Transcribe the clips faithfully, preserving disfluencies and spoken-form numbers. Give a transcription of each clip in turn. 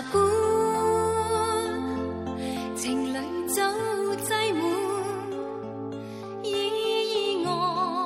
館，情侶早擠滿，意外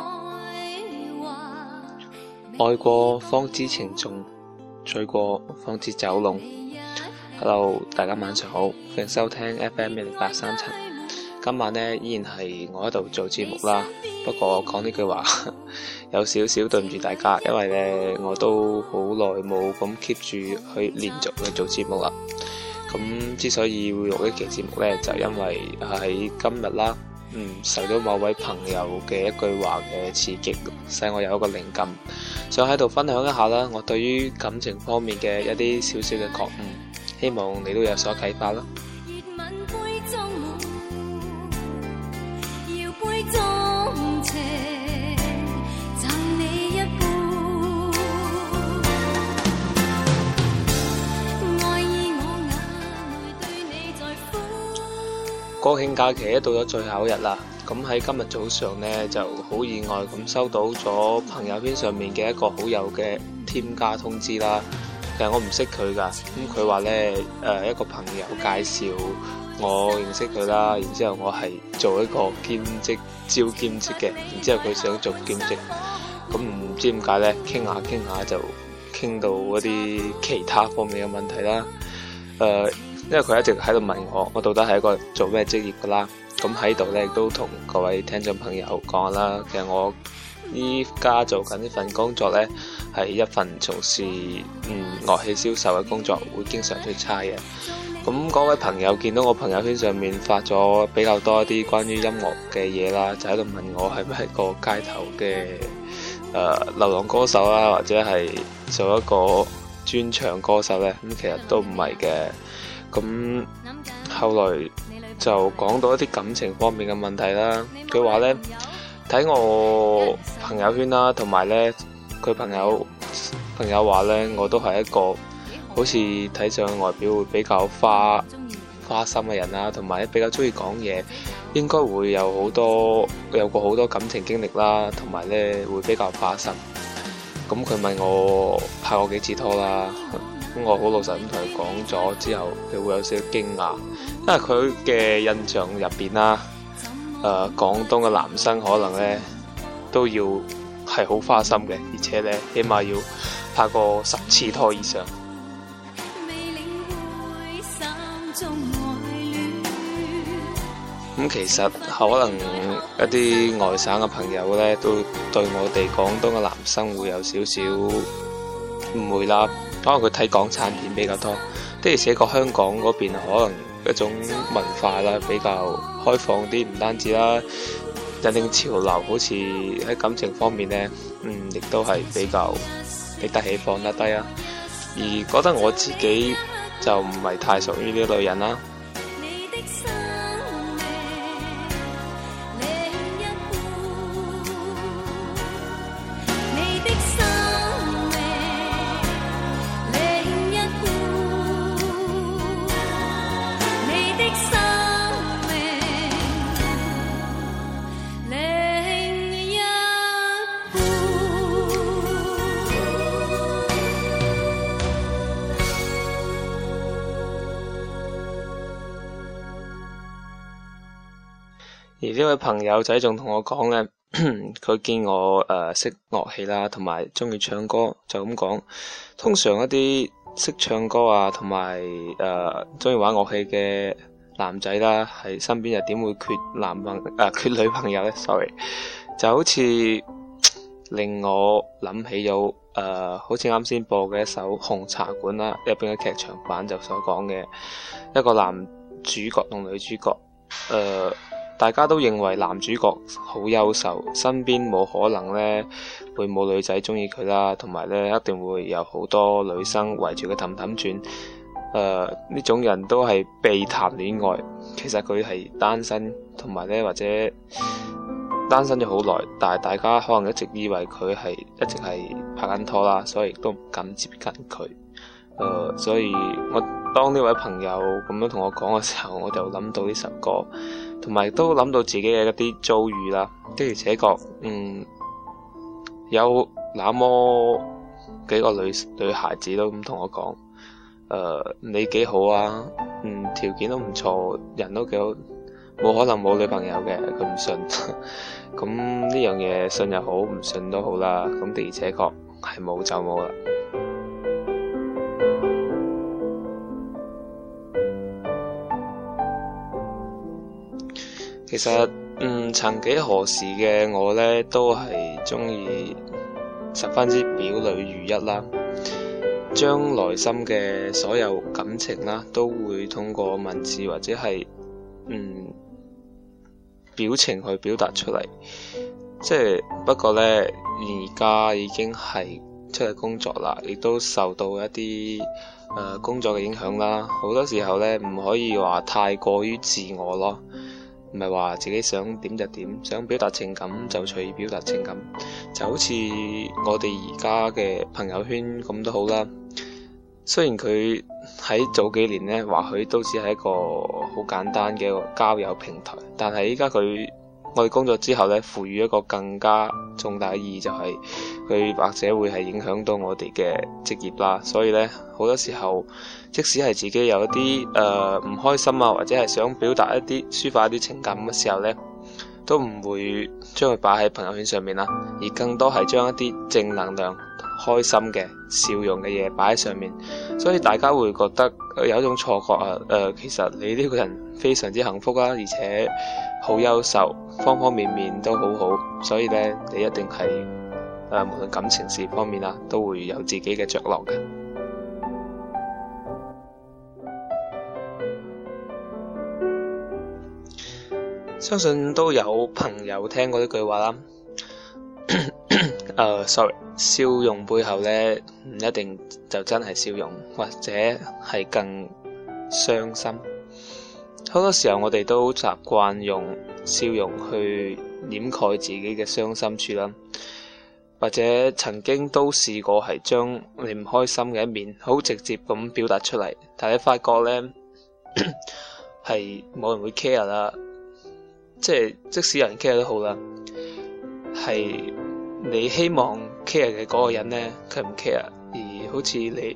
話愛過方知情重，醉過方知酒濃。Hello， 大家晚上好，歡迎收聽 F M 一零八三七。今晚呢依然係我喺度做節目啦，不過講呢句話有少少對唔住大家，因為呢我都好耐冇咁 keep 住去連續去做節目啦。咁之所以會錄呢期節目呢，就因為喺今日啦，嗯，受到某位朋友嘅一句話嘅刺激，使我有一個靈感，想喺度分享一下啦，我對於感情方面嘅一啲少少嘅覺悟，希望你都有所啟發啦。國慶假期到咗最後一日啦，咁喺今日早上呢，就好意外咁收到咗朋友圈上面嘅一個好友嘅添加通知啦。其實我唔識佢噶，咁佢話呢，誒、呃、一個朋友介紹我認識佢啦，然之後我係做一個兼職招兼職嘅，然之後佢想做兼職，咁唔知點解呢，傾下傾下就傾到一啲其他方面嘅問題啦，誒、呃。因為佢一直喺度問我，我到底係一個做咩職業噶啦？咁喺度咧，亦都同各位聽眾朋友講啦。其實我依家做緊呢份工作咧，係一份從事嗯樂器銷售嘅工作，會經常出差嘅。咁嗰位朋友見到我朋友圈上面發咗比較多一啲關於音樂嘅嘢啦，就喺度問我係咪係個街頭嘅誒、呃、流浪歌手啦，或者係做一個專場歌手咧？咁其實都唔係嘅。咁後來就講到一啲感情方面嘅問題啦。佢話呢，睇我朋友圈啦，同埋呢佢朋友朋友話呢，我都係一個好似睇上去外表會比較花花心嘅人啦，同埋比較中意講嘢，應該會有好多有過好多感情經歷啦，同埋呢會比較花心。咁佢問我拍過幾次拖啦。咁我好老實咁同佢講咗之後，佢會有少少驚訝，因為佢嘅印象入邊啦，誒、呃、廣東嘅男生可能咧都要係好花心嘅，而且咧起碼要拍過十次拖以上。咁、嗯、其實可能一啲外省嘅朋友咧，都對我哋廣東嘅男生會有少少誤會啦。可能佢睇港產片比較多，的而且確香港嗰邊可能一種文化啦比較開放啲，唔單止啦，引領潮流，好似喺感情方面呢，嗯，亦都係比較拎得起放得低啊。而覺得我自己就唔係太屬於呢類人啦。而呢位朋友仔仲同我講呢，佢見我誒、呃、識樂器啦，同埋中意唱歌，就咁講。通常一啲識唱歌啊，同埋誒中意玩樂器嘅男仔啦，喺身邊又點會缺男朋誒、呃、缺女朋友呢？ Sorry， 就好似令我諗起咗誒、呃，好似啱先播嘅一首《紅茶館》啦，入邊嘅劇場版就所講嘅一個男主角同女主角誒。呃大家都認為男主角好優秀，身邊冇可能呢會冇女仔中意佢啦，同埋呢一定會有好多女生圍住佢氹氹轉。誒、呃、呢種人都係被談戀愛，其實佢係單身，同埋呢或者單身咗好耐，但係大家可能一直以為佢係一直係拍緊拖啦，所以亦都唔敢接近佢。誒、呃，所以我當呢位朋友咁樣同我講嘅時候，我就諗到呢首歌。同埋都諗到自己嘅一啲遭遇啦，的而且確，嗯，有那麼幾個女女孩子都咁同我講，誒、 誒你幾好啊，嗯條件都唔錯，人都幾好，冇可能冇女朋友嘅，佢唔信。咁呢樣嘢信又好，唔信都好啦。咁的而且確係冇就冇啦。其實，嗯，曾幾何時嘅我呢，都係中意十分之表裏如一啦，將內心嘅所有感情啦，都會通過文字或者係嗯表情去表達出嚟。即係不過呢，而家已經係出嚟工作啦，亦都受到一啲誒、呃、工作嘅影響啦。好多時候呢，唔可以話太過於自我咯。唔係話自己想點就點，想表達情感就隨意表達情感，就好似我哋而家嘅朋友圈咁都好啦。雖然佢喺早幾年呢，或許都只係一個好簡單嘅一個交友平台，但係依家佢我哋工作之後呢，賦予一個更加重大嘅意義，就係佢或者會係影響到我哋嘅職業啦。所以呢，好多時候即使係自己有一啲誒唔開心啊，或者係想表達一啲抒發一啲情感嘅時候呢，都唔會將佢擺喺朋友圈上面啦，而更多係將一啲正能量、開心嘅笑容嘅嘢擺喺上面。所以大家會覺得有一種錯覺啊，誒、呃、其實你呢個人非常之幸福啦，而且好優秀，方方面面都好好。所以呢，你一定係誒、呃、無論感情事方面啊，都會有自己嘅着落嘅。相信都有朋友聽過呢句話啦。誒、uh, ，sorry， 笑容背後呢，唔一定就真係笑容，或者係更傷心。好多時候我哋都習慣用笑容去掩蓋自己嘅傷心處啦，或者曾經都試過係將你唔開心嘅一面好直接咁表達出嚟，但係你發覺呢，係冇人會 care 啦。即係即使有人 care 都好啦，係你希望 care 嘅嗰個人呢，佢唔 care，而好似你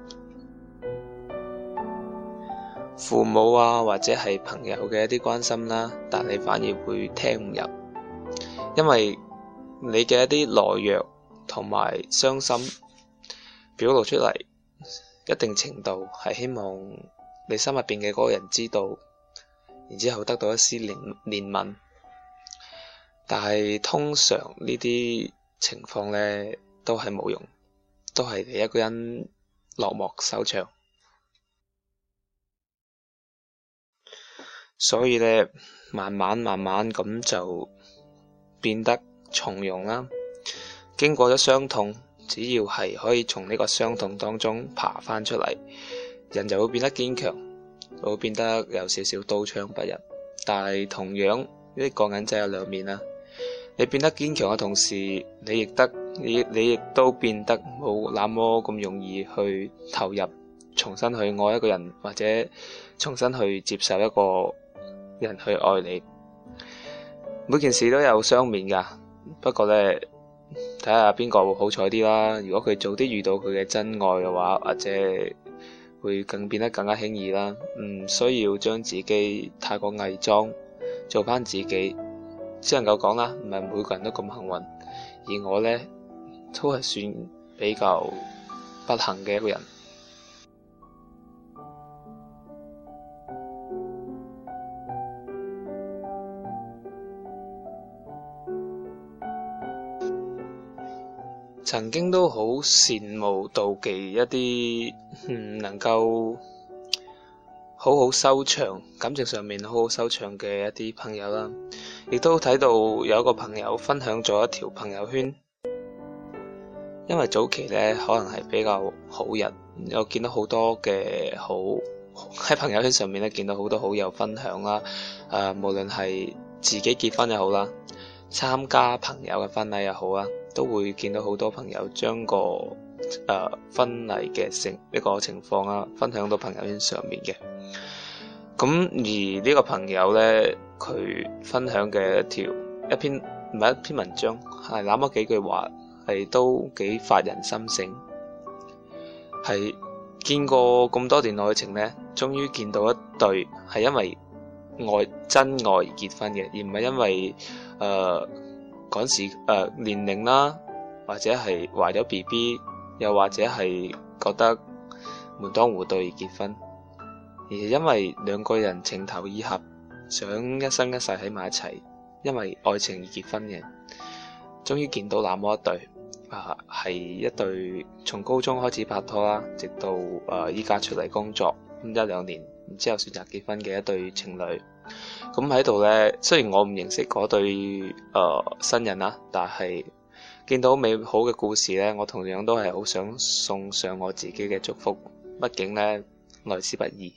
父母啊或者係朋友嘅一啲關心啦，但你反而會聽唔入，因為你嘅一啲懦弱同埋傷心表露出嚟，一定程度係希望你心入邊嘅嗰個人知道，然之後得到一絲憐憐憫，但係通常呢啲情況呢都係冇用，都係你一個人落幕收場。所以呢，慢慢慢慢咁就變得從容啦。經過咗傷痛，只要係可以從呢個傷痛當中爬翻出嚟，人就會變得堅強。會變得有少少刀槍不入，但係同樣呢個銀仔有兩面啦。你變得堅強嘅同時，你亦得你你亦都變得冇那麼咁容易去投入，重新去愛一個人，或者重新去接受一個人去愛你。每件事都有雙面噶，不過呢，睇下邊個會好彩啲啦。如果佢早啲遇到佢嘅真愛嘅話，或者會更變得更加輕易啦，唔需要將自己太過偽裝，做翻自己。只能夠講啦，唔係每個人都咁幸運，而我呢，都係算比較不幸嘅一個人。曾經都好羨慕妒忌一啲唔能夠好好收場，感情上面好好收場嘅一啲朋友啦，亦都睇到有一個朋友分享咗一條朋友圈。因為早期呢可能係比較好人，我見到好多嘅好喺朋友圈上面咧見到好多好友分享啦，誒、呃、無論係自己結婚又好啦，參加朋友嘅婚禮又好啦，都會見到好多朋友將個誒、呃、婚禮嘅成一個情況啊分享到朋友圈上面嘅。咁而呢個朋友呢，佢分享嘅一條一篇唔係一篇文章，係那麼幾句話，係都幾發人心醒，係見過咁多段愛情呢，終於見到一對係因為愛真愛而結婚嘅，而唔係因為誒趕時誒、呃、年齡啦，或者係懷咗 B B， 又或者係覺得門當戶對而結婚，而係因為兩個人情投意合，想一生一世喺埋一齊，因為愛情而結婚嘅。終於見到那麼一對啊，係一對從高中開始拍拖啦，直到誒依家出嚟工作咁一兩年，然之後選擇結婚嘅一對情侶。咁喺度呢，雖然我唔認識嗰對誒、呃、新人啦，但係見到美好嘅故事呢，我同樣都係好想送上我自己嘅祝福。畢竟呢，來之不易。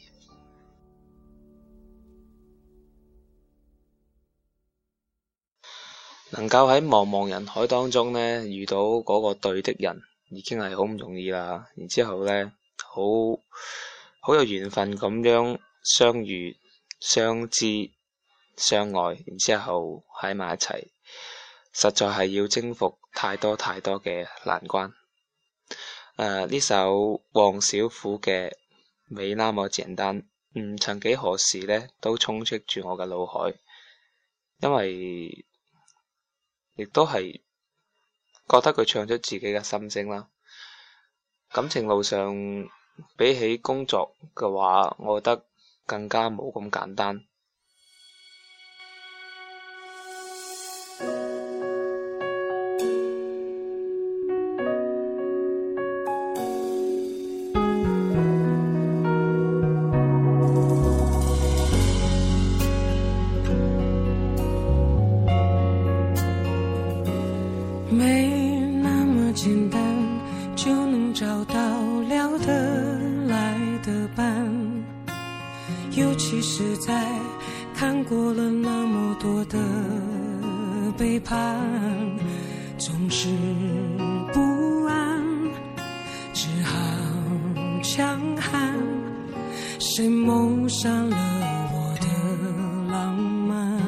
能夠喺茫茫人海當中呢遇到嗰個對的人，已經係好唔容易啦。然之後呢，好好有緣分咁樣相遇、相知、相愛，然之後喺埋一齊，實在係要征服太多太多嘅難關。誒、呃，呢首黃小琥嘅《沒那麼簡單》，嗯，曾幾何時呢都充斥住我嘅腦海，因為亦都係覺得佢唱出自己嘅心聲啦。感情路上比起工作嘅話，我覺得更加冇咁簡單。 尤其是在看過了那麼多的背叛，總是不安，只好強悍。誰謀殺了我的浪漫？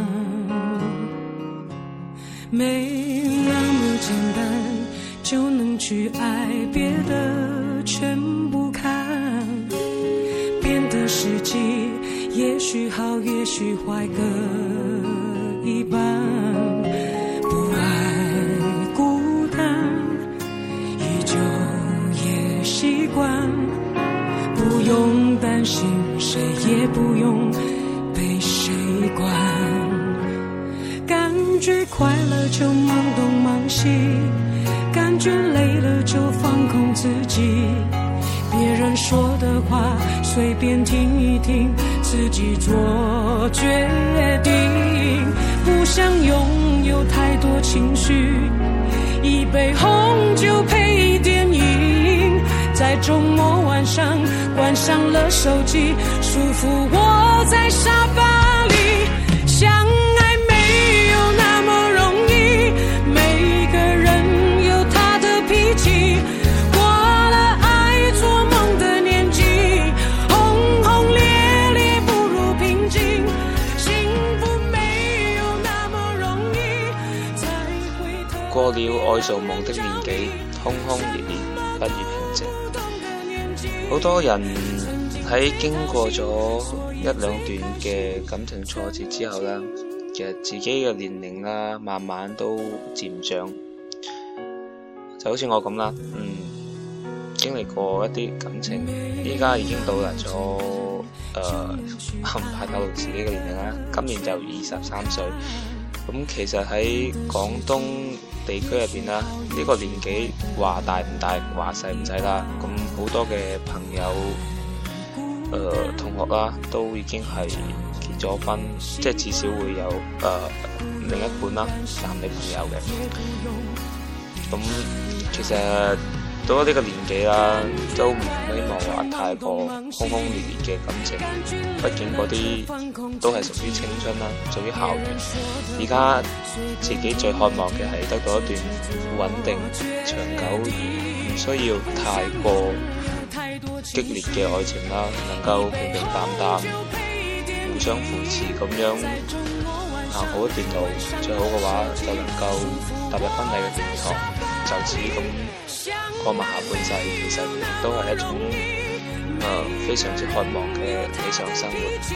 沒那麼簡單就能去愛，別的全不看，變得實際也許好也許壞各一半，不愛孤單依舊也習慣，不用擔心誰也不用被誰管，感覺快樂就忙東忙西，感覺累了就放空自己，別人說的話隨便聽一聽，自己做決定，不想擁有太多情緒，一杯紅酒配電影，在周末晚上關上了手機，舒服窩在沙發裡，相愛沒有那麼容易，每個人有他的脾氣，過了愛做夢的年紀，轟轟烈烈不如平靜，幸福沒有那麼容易，才會特別過了愛做夢的年紀，轟轟烈烈不如平靜。好多人喺經過咗一兩段嘅感情挫折之後呢，其實自己嘅年齡啦，慢慢都漸長，就好似我咁啦，嗯，經歷過一啲感情，依家已經到達咗誒唔怕透露自己嘅年齡啦，今年就二十三歲。咁其實喺廣東地區入邊啦，呢、這個年紀話大唔大，話細唔細啦。咁好多嘅朋友、誒、呃、同學啦，都已經係結咗婚，即係至少會有誒、呃、另一半啦，男女朋友嘅。咁其實到咗呢個年紀啦，都唔希望話太過轟轟烈烈嘅感情，畢竟嗰啲都係屬於青春啦，屬於校園。而家自己最渴望嘅係得到一段穩定、長久而唔需要太過激烈嘅愛情啦，能夠平平淡淡、互相扶持咁樣行好一段路，最好嘅話就能夠踏入婚禮嘅殿堂，就此咁過埋下半世，其實都係一種呃非常之渴望嘅理想生活。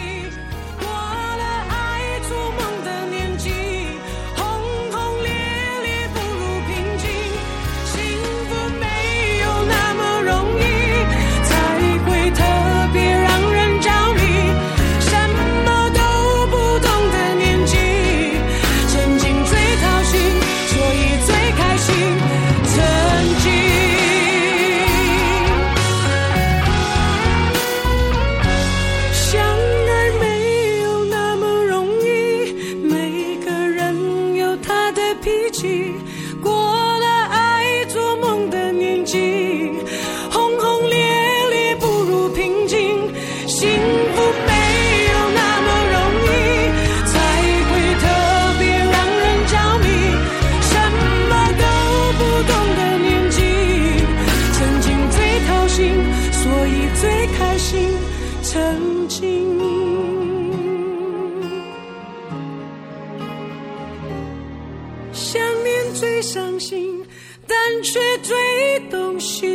想念最伤心，但却最动心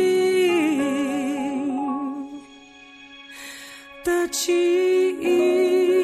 的記憶。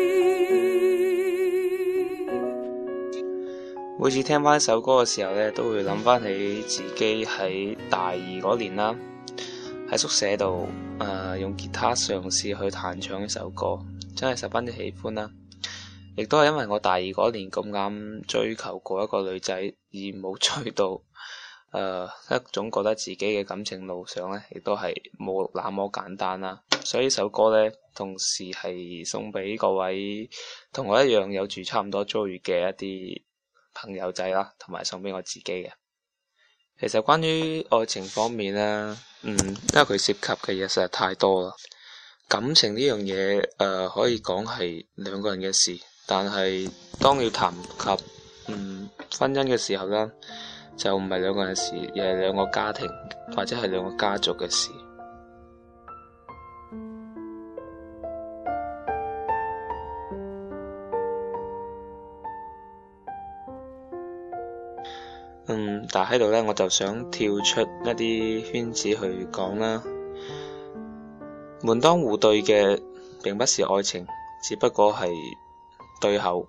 每次聽翻一首歌嘅時候呢，都會諗翻起自己喺大二嗰年啦，喺宿舍度誒、呃、用吉他嘗試去彈唱一首歌，真係十分之喜歡啦。亦都係因為我大二嗰年咁啱追求過一個女仔，而冇追到，誒、呃、一種覺得自己嘅感情路上呢，亦都係冇那麼簡單啦。所以呢首歌呢，同時係送俾各位同我一樣有住差唔多遭遇嘅一啲朋友仔啦，同埋送俾我自己嘅。其實關於愛情方面呢，嗯，因為佢涉及嘅嘢實在太多啦。感情呢樣嘢，誒、呃、可以講係兩個人嘅事。但係當要談及嗯婚姻嘅時候呢，就唔係兩個人嘅事，而係兩個家庭或者係兩個家族嘅事。嗯，但係喺度呢，我就想跳出一啲圈子去講啦。門當戶對嘅並不是愛情，只不過係對口。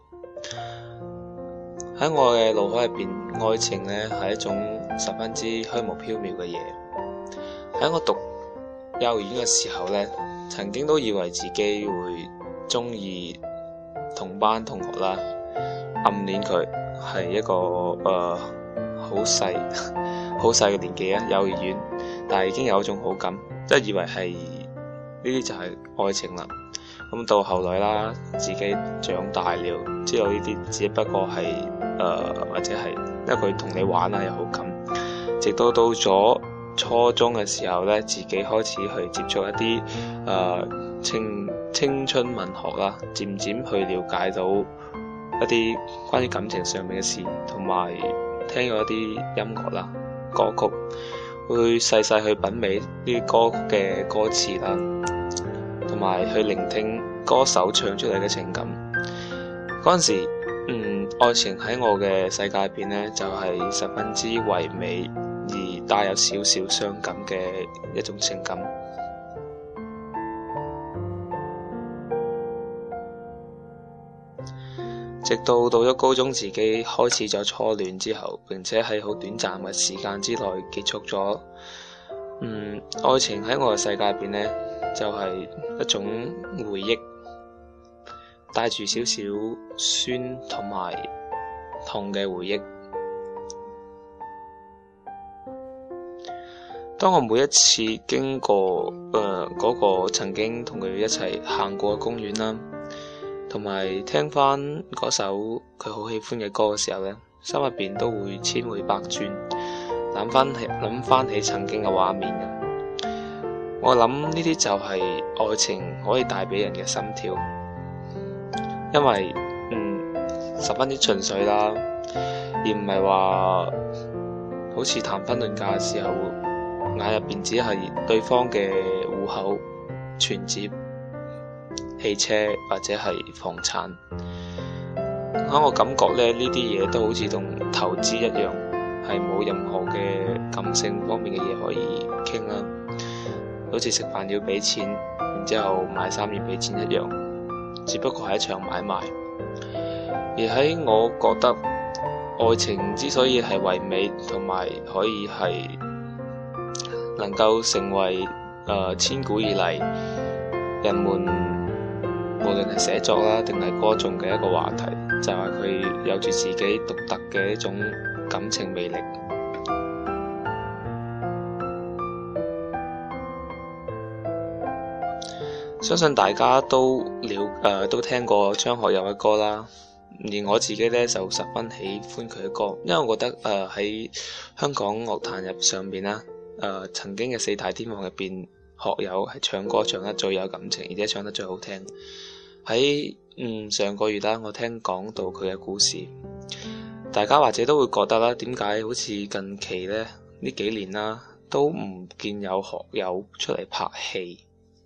喺我嘅腦海入邊，愛情呢係一種十分之虛無縹緲嘅嘢。喺我讀幼兒園嘅時候呢，曾經都以為自己會中意同班同學啦，暗戀佢，係一個誒好細好細嘅年紀啊，幼兒園，但係已經有一種好感，即係以為係呢啲就係愛情啦。咁到後來啦，自己長大了，知道呢啲只不過係誒、呃、或者係因為佢同你玩啊有好感，直到到咗初中嘅時候咧，自己開始去接觸一啲誒、呃、青青春文學啦，漸漸去了解到一啲關於感情上面嘅事，同埋聽咗一啲音樂啦、歌曲，會細細去品味呢啲歌曲嘅歌詞啦，同埋去聆聽歌手唱出嚟嘅情感。嗰陣時，嗯，愛情喺我嘅世界入邊呢，就係十分之唯美而帶有少少傷感嘅一種情感。直到到咗高中，自己開始咗初戀之後，並且喺好短暫嘅時間之內結束咗。嗯，愛情喺我嘅世界入邊呢，就係一種回憶，帶住少少酸同埋痛嘅回憶。當我每一次經過誒嗰個曾經同佢一齊行過嘅公園啦，同埋聽翻嗰首佢好喜歡嘅歌嘅時候呢，心入邊都會千回百轉，諗翻起諗翻起曾經嘅畫面嘅。我諗呢啲就係愛情可以帶俾人嘅心跳，因為嗯十分之純粹啦，而唔係話好似談婚論嫁嘅時候，眼入邊只係對方嘅戶口、存摺、汽車或者係房產。喺我感覺咧，呢啲嘢都好似同投資一樣，係冇任何嘅感性方面嘅嘢可以傾啦。 好似食飯要俾錢，然之後買衫要俾錢一樣，只不過係一場買賣。而喺我覺得，愛情之所以係唯美，同埋可以係能夠成為誒、呃、千古以嚟人們無論係寫作啦定係歌頌嘅一個話題，就係、是、佢有住自己獨特嘅一種感情魅力。相信大家都了誒、呃、都聽過張學友嘅歌啦。而我自己咧就十分喜歡佢嘅歌，因為我覺得誒喺、呃、香港樂壇入上邊啦，誒、呃、曾經嘅四大天王入邊，學友係唱歌唱得最有感情，而且唱得最好聽。喺嗯上個月啦，我聽講到佢嘅故事，大家或者都會覺得啦，點解好似近期咧呢幾年啦都唔見有學友出嚟拍戲？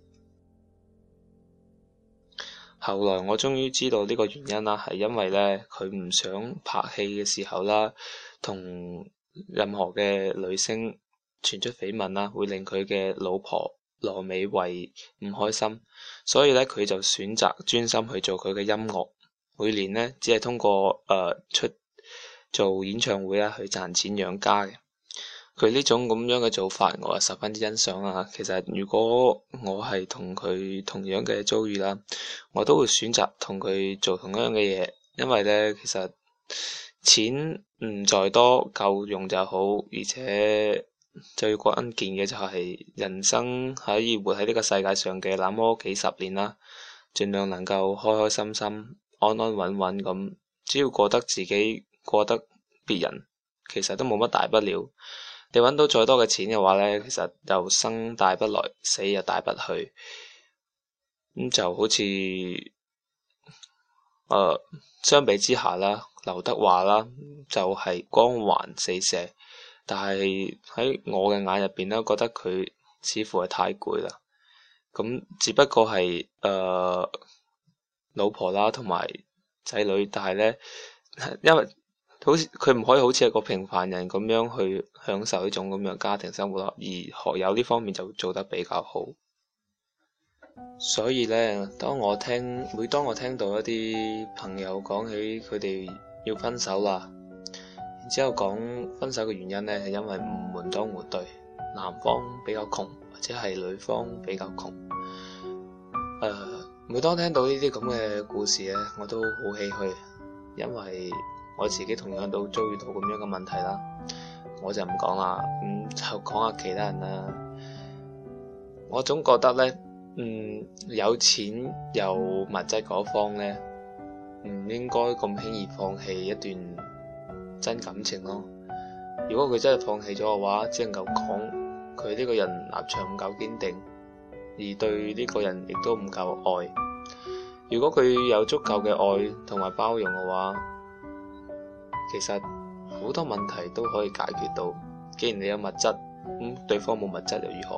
後來我終於知道呢個原因啦，係因為咧佢唔想拍戲嘅時候啦，同任何嘅女星傳出緋聞啦，會令佢嘅老婆羅美惠唔開心，所以咧佢就選擇專心去做佢嘅音樂。每年呢，只係通過誒、呃、出做演唱會啦去賺錢養家嘅。佢呢種咁樣嘅做法，我係十分之欣賞啦。其實如果我係同佢同樣嘅遭遇啦，我都會選擇同佢做同樣嘅嘢，因為咧其實錢唔在多，夠用就好，而且最關鍵嘅就係人生可以活喺呢個世界上嘅那麼幾十年啦，盡量能夠開開心心、安安穩穩咁，只要過得自己，過得別人，其實都冇乜大不了。你揾到再多嘅錢嘅話呢，其實又生帶不來，死又帶不去。咁就好似誒、呃，相比之下啦，劉德華啦就係、是、光環四射，但係喺我嘅眼入邊咧，覺得佢似乎係太攰啦。咁只不過係誒、呃、老婆啦同埋仔女，但係呢，因為好似佢唔可以好似一個平凡人咁樣去享受呢種咁樣家庭生活咯，而學友呢方面就做得比較好。所以呢，當我聽每當我聽到一啲朋友講起佢哋要分手啦，然之後講分手嘅原因呢，係因為唔門當戶對，男方比較窮或者係女方比較窮。誒、呃，每當聽到呢啲咁嘅故事呢，我都好唏噓，因為我自己同樣都遭遇到咁樣嘅問題啦，我就唔講啦，咁、嗯、就講下其他人啦。我總覺得咧，嗯，有錢有物質嗰方咧，唔應該咁輕易放棄一段真感情咯。如果佢真係放棄咗嘅話，只能夠講佢呢個人立場唔夠堅定，而對呢個人亦都唔夠愛。如果佢有足夠嘅愛同埋包容嘅話，其實好多問題都可以解決到。既然你有物質，咁、嗯、對方冇物質又如何？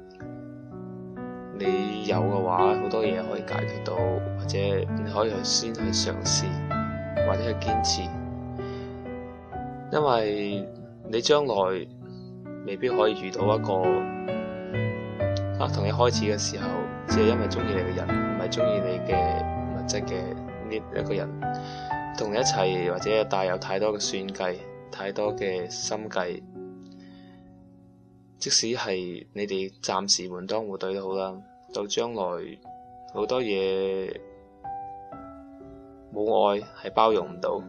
你有嘅話，好多嘢可以解決到，或者你可以去先去嘗試，或者去堅持。因為你將來未必可以遇到一個啊，同你開始嘅時候，只係因為中意你嘅人，唔係中意你嘅物質嘅呢一個人。同你一齊或者帶有太多嘅算計，太多嘅心計，即使係你哋暫時門當戶對都好啦，到將來好多嘢冇愛係包容唔到。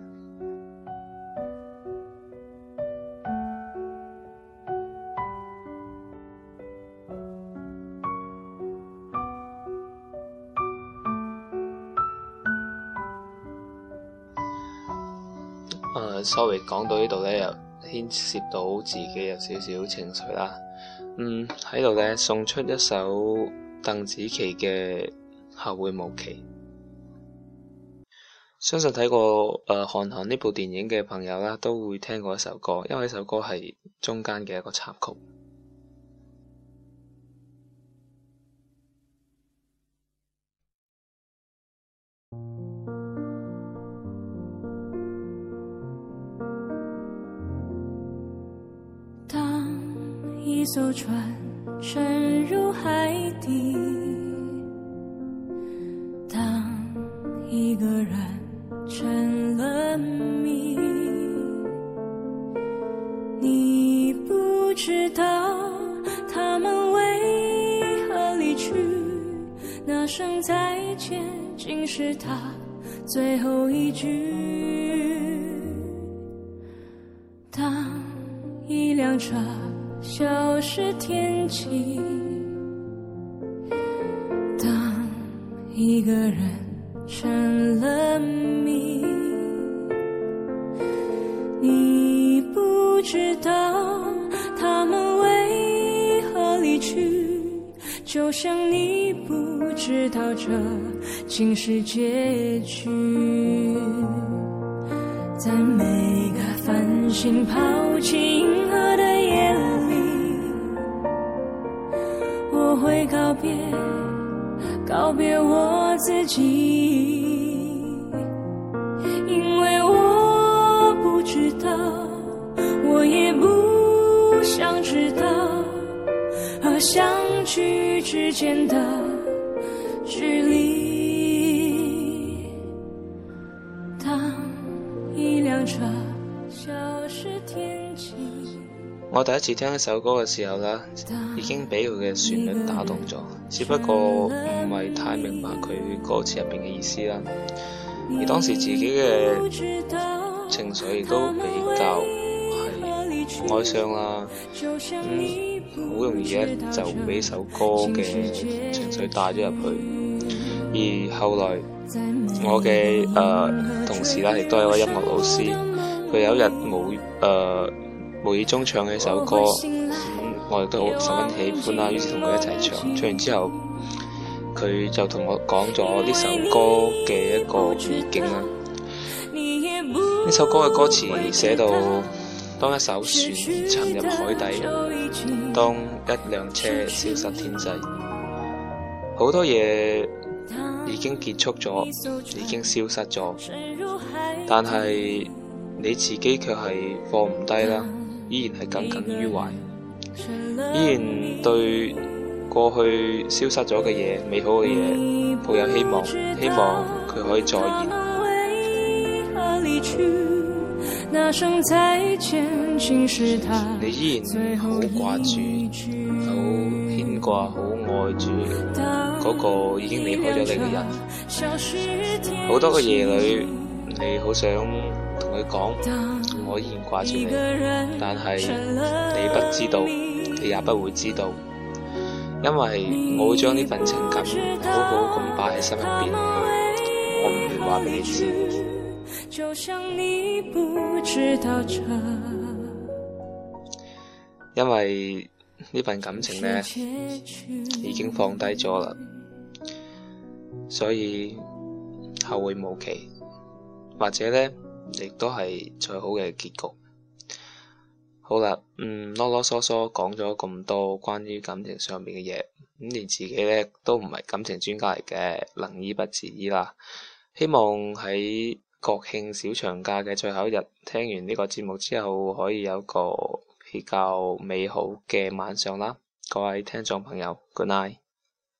誒，sorry，講到呢度咧，又牽涉到自己有少少情緒啦。嗯，喺度咧送出一首鄧紫棋嘅《後會無期》。相信睇過誒《韓寒》呢部電影嘅朋友啦，都會聽過一首歌，因為呢首歌係中間嘅一個插曲。 一艘船沉入海底。当一个人成了谜，你不知道他们为何离去，那声再见竟是他最后一句。当一辆车消失天际，当一个人成了谜，你不知道他们为何离去，就像你不知道这竟是结局。在每个繁星抛弃银河的夜里，我会告别告别我自己，因为我不知道，我也不想知道，和相聚之间的距离。当一辆车消失天际。 我第一次聽呢首歌嘅時候呢，已經俾佢嘅旋律打動咗，只不過唔係太明白佢歌詞入邊嘅意思啦。而當時自己嘅情緒亦都比較係哀傷啦，咁好容易咧就俾首歌嘅情緒帶咗入去。而後來我嘅誒、呃、同事啦，亦都係一個音樂老師，佢有一日無誒。呃無意中唱起首歌，咁我亦都好十分喜歡啦，於是同佢一齊唱。唱完之後，佢就同我講咗呢首歌嘅一個意境啦。呢首歌嘅歌詞寫到，當一艘船沉入海底，當一輛車消失天際，好多嘢已經結束咗，已經消失咗，但係你自己卻係放唔低啦。依然係耿耿於懷，依然對過去消失咗嘅嘢、美好嘅嘢抱有希望，希望佢可以再現。你依然好掛住，好牽掛，好愛住嗰個已經離開咗你嘅人。好多個夜裏，你好想同佢講，我依然掛住你，但係你不知道，你也不會知道，因為我會將呢份情感好好咁擺喺心入邊，我唔會話俾你知。因為呢份感情呢已經放低咗啦，所以後會無期，或者呢亦都係最好嘅結局。好啦，嗯，囉囉嗦嗦講咗咁多關於感情上面嘅嘢，咁連自己咧都唔係感情專家嚟嘅，能醫不自醫啦。希望喺國慶小長假嘅最後一日，聽完呢個節目之後，可以有個比較美好嘅晚上啦。各位聽眾朋友 ，Good night。